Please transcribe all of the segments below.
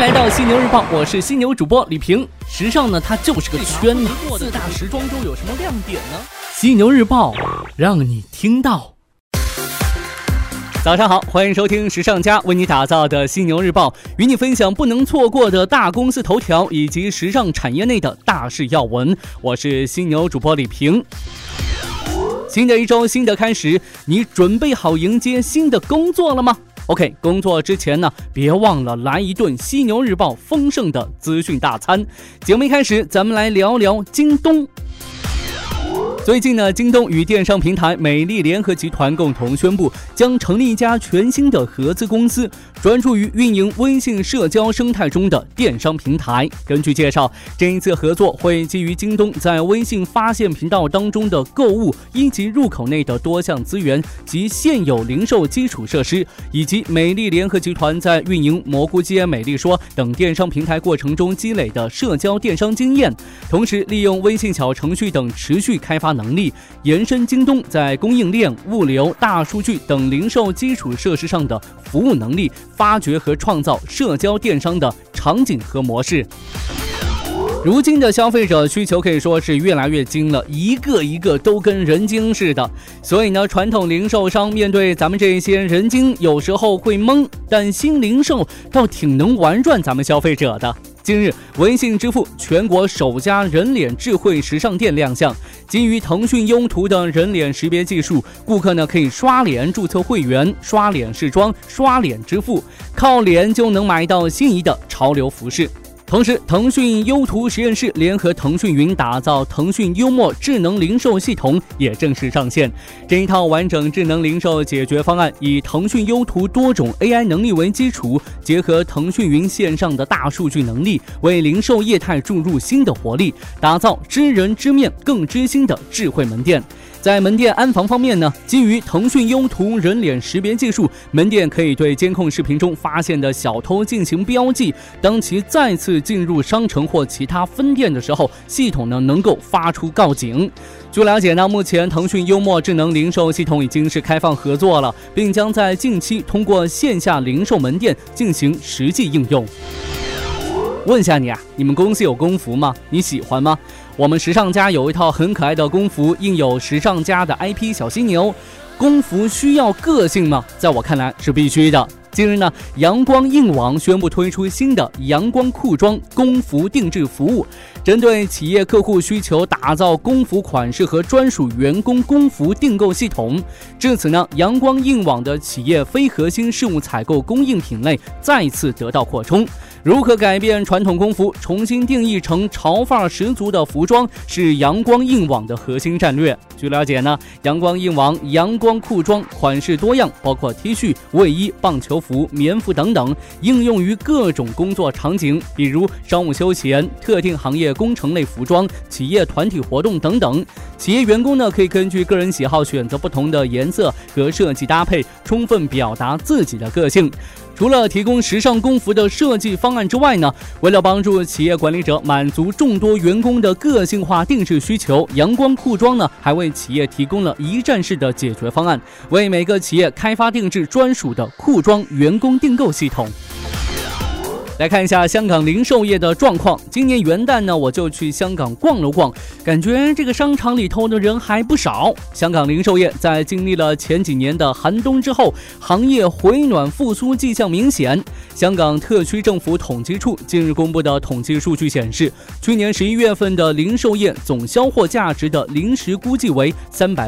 来到犀牛日报，我是犀牛主播李平。时尚呢，它就是个圈子。4大时装周有什么亮点呢？犀牛日报让你听到。早上好，欢迎收听时尚家为你打造的犀牛日报，与你分享不能错过的大公司头条以及时尚产业内的大事要闻。我是犀牛主播李平。新的一周，新的开始，你准备好迎接新的工作了吗？OK， 工作之前呢，别忘了来一顿犀牛日报丰盛的资讯大餐。节目一开始，咱们来聊聊京东。最近呢，京东与电商平台美丽联合集团共同宣布，将成立一家全新的合资公司，专注于运营微信社交生态中的电商平台。根据介绍，这一次合作会基于京东在微信发现频道当中的购物一级入口内的多项资源及现有零售基础设施，以及美丽联合集团在运营蘑菇街、美丽说等电商平台过程中积累的社交电商经验，同时利用微信小程序等持续开发能力，延伸京东在供应链、物流、大数据等零售基础设施上的服务能力，发掘和创造社交电商的场景和模式。如今的消费者需求可以说是越来越精了，一个一个都跟人精似的。所以呢，传统零售商面对咱们这些人精，有时候会懵，但新零售倒挺能玩转咱们消费者的。近日，微信支付全国首家人脸智慧时尚店亮相。基于腾讯优图的人脸识别技术，顾客呢可以刷脸注册会员、刷脸试妆、刷脸支付，靠脸就能买到心仪的潮流服饰。同时，腾讯优图实验室联合腾讯云打造腾讯幽默智能零售系统也正式上线。这一套完整智能零售解决方案以腾讯优图多种 AI 能力为基础，结合腾讯云线上的大数据能力，为零售业态注入新的活力，打造知人知面更知心的智慧门店。在门店安防方面呢，基于腾讯优图人脸识别技术，门店可以对监控视频中发现的小偷进行标记，当其再次进入商城或其他分店的时候，系统呢能够发出告警。据了解呢，目前腾讯幽默智能零售系统已经是开放合作了，并将在近期通过线下零售门店进行实际应用。问下你啊，你们公司有工服吗？你喜欢吗？我们时尚家有一套很可爱的工服，印有时尚家的 IP 小犀牛。工服需要个性吗？在我看来是必须的。近日呢，阳光硬网宣布推出新的阳光裤装工服定制服务，针对企业客户需求，打造工服款式和专属员工工服订购系统。至此呢，阳光硬网的企业非核心事务采购供应品类再次得到扩充。如何改变传统工服，重新定义成潮范儿十足的服装，是阳光硬网的核心战略。据了解呢，阳光硬网阳光裤装款式多样，包括 T 恤、卫衣、棒球服、棉服等等，应用于各种工作场景，比如商务休闲、特定行业工程类服装、企业团体活动等等。企业员工呢，可以根据个人喜好选择不同的颜色和设计搭配，充分表达自己的个性。除了提供时尚工服的设计方案之外呢，为了帮助企业管理者满足众多员工的个性化定制需求，阳光裤装呢还为企业提供了一站式的解决方案，为每个企业开发定制专属的裤装员工订购系统。来看一下香港零售业的状况。今年元旦呢，我就去香港逛了逛，感觉这个商场里头的人还不少。香港零售业在经历了前几年的寒冬之后，行业回暖复苏迹象明显。香港特区政府统计处近日公布的统计数据显示，去年11月份的零售业总销货价值的临时估计为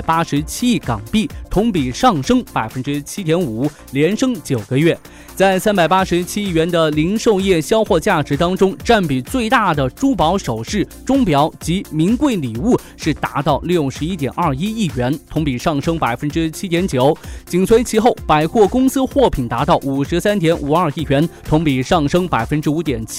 387亿港币，同比上升7.5%，连升9个月。在387亿元的零售业销货价值当中，占比最大的珠宝首饰、钟表及名贵礼物是达到61.21亿元，同比上升7.9%。紧随其后，百货公司货品达到53.52亿元，同比上升5.7%。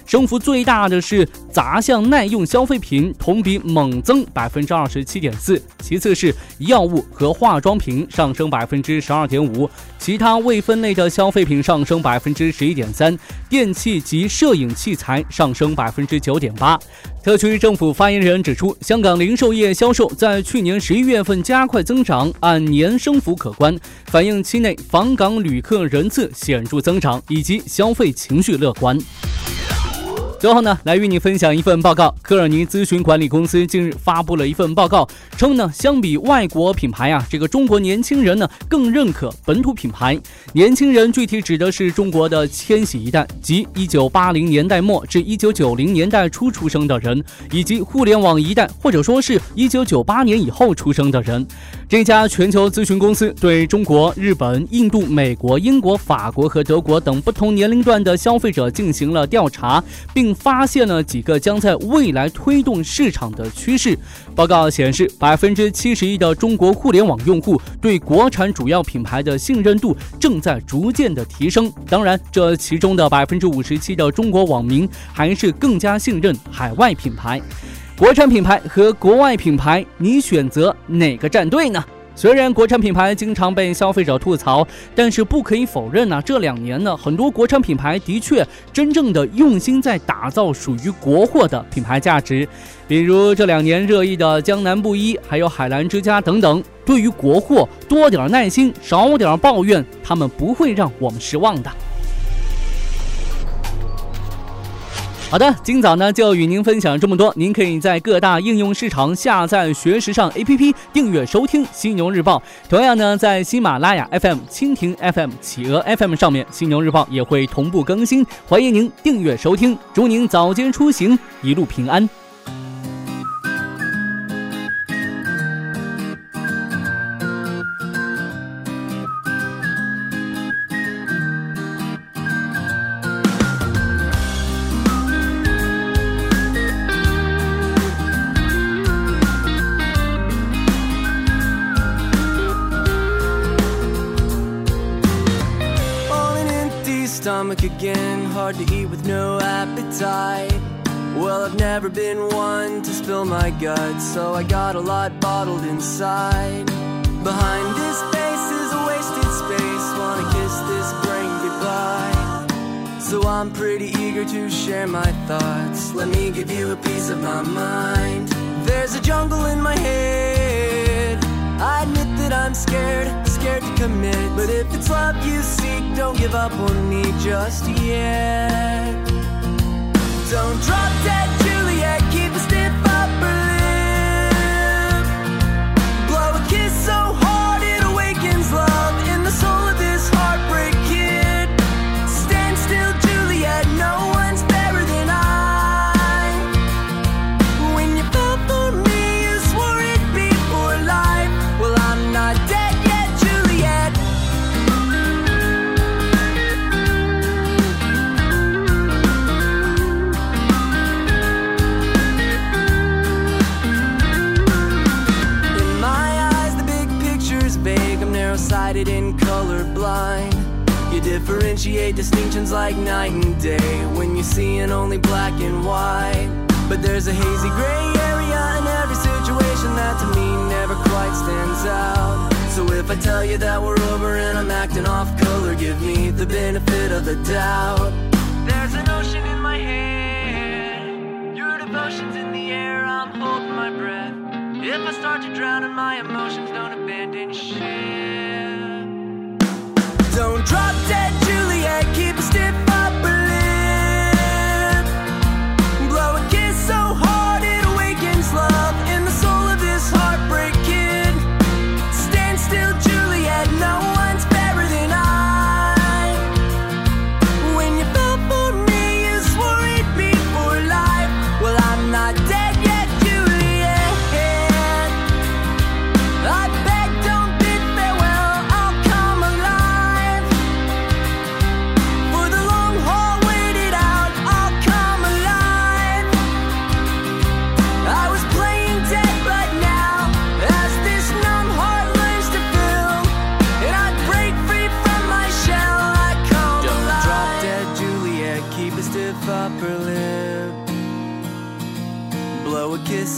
升幅最大的是杂项耐用消费品，同比猛增 27.4%， 其次是药物和化妆品上升 12.5%， 其他未分类的消费品上升 11.3%， 电器及摄影器材上升 9.8%。 特区政府发言人指出，香港零售业销售在去年11月份加快增长，按年升幅可观，反映期内访港旅客人次显著增长以及消费情绪乐观。最后呢，来与你分享一份报告。科尔尼咨询管理公司近日发布了一份报告，称呢，相比外国品牌这个中国年轻人呢更认可本土品牌。年轻人具体指的是中国的千禧一代，即1980年代末至1990年代初出生的人，以及互联网一代，或者说是1998年以后出生的人。这家全球咨询公司对中国、日本、印度、美国、英国、法国和德国等不同年龄段的消费者进行了调查，并发现了几个将在未来推动市场的趋势。报告显示， 71% 的中国互联网用户对国产主要品牌的信任度正在逐渐的提升。当然，这其中的 57% 的中国网民还是更加信任海外品牌。国产品牌和国外品牌，你选择哪个战队呢？虽然国产品牌经常被消费者吐槽，但是不可以否认这2年呢，很多国产品牌的确真正的用心在打造属于国货的品牌价值。比如这2年热议的江南布衣，还有海澜之家等等。对于国货，多点耐心，少点抱怨，他们不会让我们失望的。好的，今早呢就与您分享这么多。您可以在各大应用市场下载学时尚 APP， 订阅收听犀牛日报。同样呢，在喜马拉雅 FM、蜻蜓 FM、企鹅 FM 上面，犀牛日报也会同步更新，欢迎您订阅收听。祝您早间出行一路平安。 Stomach again, hard to eat with no appetite. Well, I've never been one to spill my guts, so I got a lot bottled inside. Behind this face is a wasted space, wanna kiss this brain goodbye. So I'm pretty eager to share my thoughts, let me give you a piece of my mind. There's a jungle in my head, I admit that I'm scared to commit, but if it's love you seek, don't give up on me just yet. Don't drop dead Juliet, keep a stiff upper lip, blow a kiss so hard it awakens love in the soul of this heartbreak kid. Stand still Juliet, no one's fairer than I. When you fell for me you swore it'd be for life, well I'm not dead. Sighted and colorblind, you differentiate distinctions like night and day when you're seeing only black and white. But there's a hazy gray area in every situation that to me never quite stands out. So if I tell you that we're over and I'm acting off color, give me the benefit of the doubt. There's an ocean in my head, your devotion's in the air, I'm holding my breath. If I start to drown in my emotions, don't abandon ship. Don't drop dead Juliet, keep a stiff upper lip, blow a kiss so hard it awakens love in the soul of this heartbreak kid. Stand still Juliet, no one's fairer than I. When you fell for me you swore it'd be for life, well I'm not dead yet Juliet. I beg don't bid farewell, I'll come alive.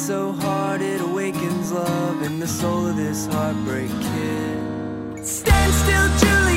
so hard it awakens love in the soul of this heartbreak kid. Stand still, Julie.